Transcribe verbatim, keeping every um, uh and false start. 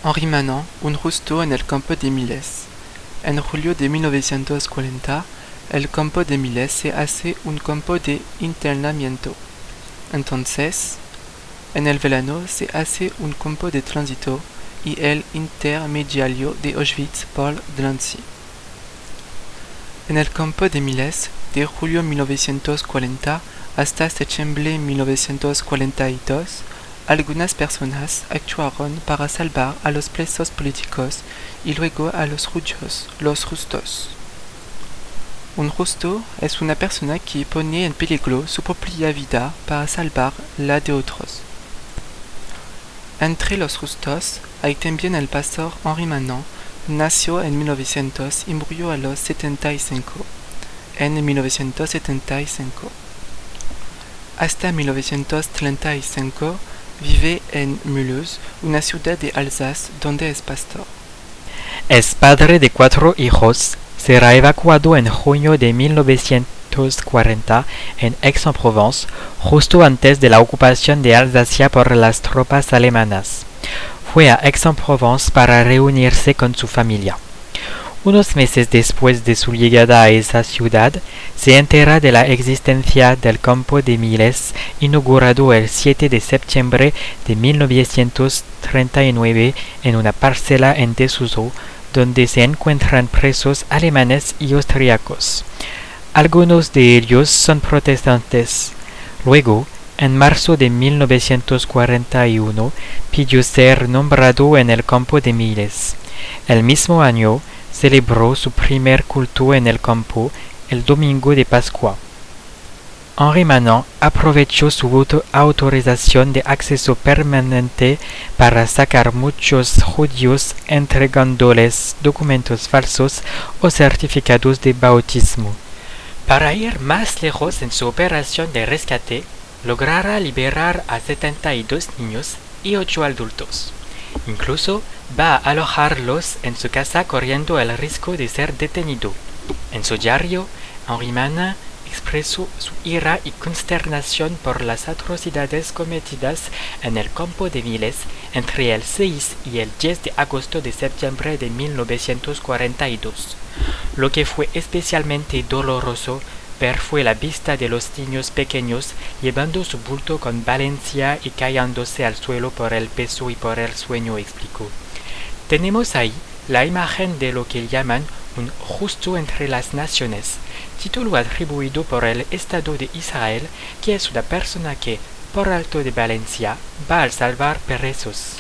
Henri Manant, un justo en el campo de Miles. En julio de mil novecientos cuarenta, el campo de Miles se hace un campo de internamiento. Entonces, en el verano se hace un campo de tránsito y el intermediario de Auschwitz por Drancy. En el campo de Miles, de julio mil novecientos cuarenta hasta septiembre mil novecientos cuarenta y dos, algunas personas actuaron para salvar a los presos políticos y luego a los judíos, los justos. Un justo es una persona que pone en peligro su propia vida para salvar la de otros. Entre los justos hay también el pastor Henri Manant. Nació en mil novecientos y murió a los setenta y cinco, en mil novecientos setenta y cinco. Hasta mil novecientos treinta y cinco vive en Mulhouse, una ciudad de Alsace, donde es pastor. Es padre de cuatro hijos. Será evacuado en junio de mil novecientos cuarenta en Aix-en-Provence, justo antes de la ocupación de Alsacia por las tropas alemanas. Fue a Aix-en-Provence para reunirse con su familia. Unos meses después de su llegada a esa ciudad, se entera de la existencia del campo de Miles, inaugurado el siete de septiembre de mil novecientos treinta y nueve en una parcela en desuso, donde se encuentran presos alemanes y austriacos. Algunos de ellos son protestantes. Luego, en marzo de mil novecientos cuarenta y uno, pidió ser nombrado en el campo de Miles. El mismo año, celebró su primer culto en el campo, el domingo de Pascua. Henri Manant aprovechó su autorización de acceso permanente para sacar muchos judíos entregándoles documentos falsos o certificados de bautismo. Para ir más lejos en su operación de rescate, logrará liberar a setenta y dos niños y ocho adultos. Incluso va a alojarlos en su casa corriendo el riesgo de ser detenido. En su diario, Henri Manant expresó su ira y consternación por las atrocidades cometidas en el campo de Miles entre el seis y el diez de agosto de septiembre de mil novecientos cuarenta y dos. Lo que fue especialmente doloroso ver fue la vista de los niños pequeños llevando su bulto con violencia y cayéndose al suelo por el peso y por el sueño, explicó. Tenemos ahí la imagen de lo que llaman un justo entre las naciones, título atribuido por el Estado de Israel, que es una persona que, por acto de violencia, va a salvar presos.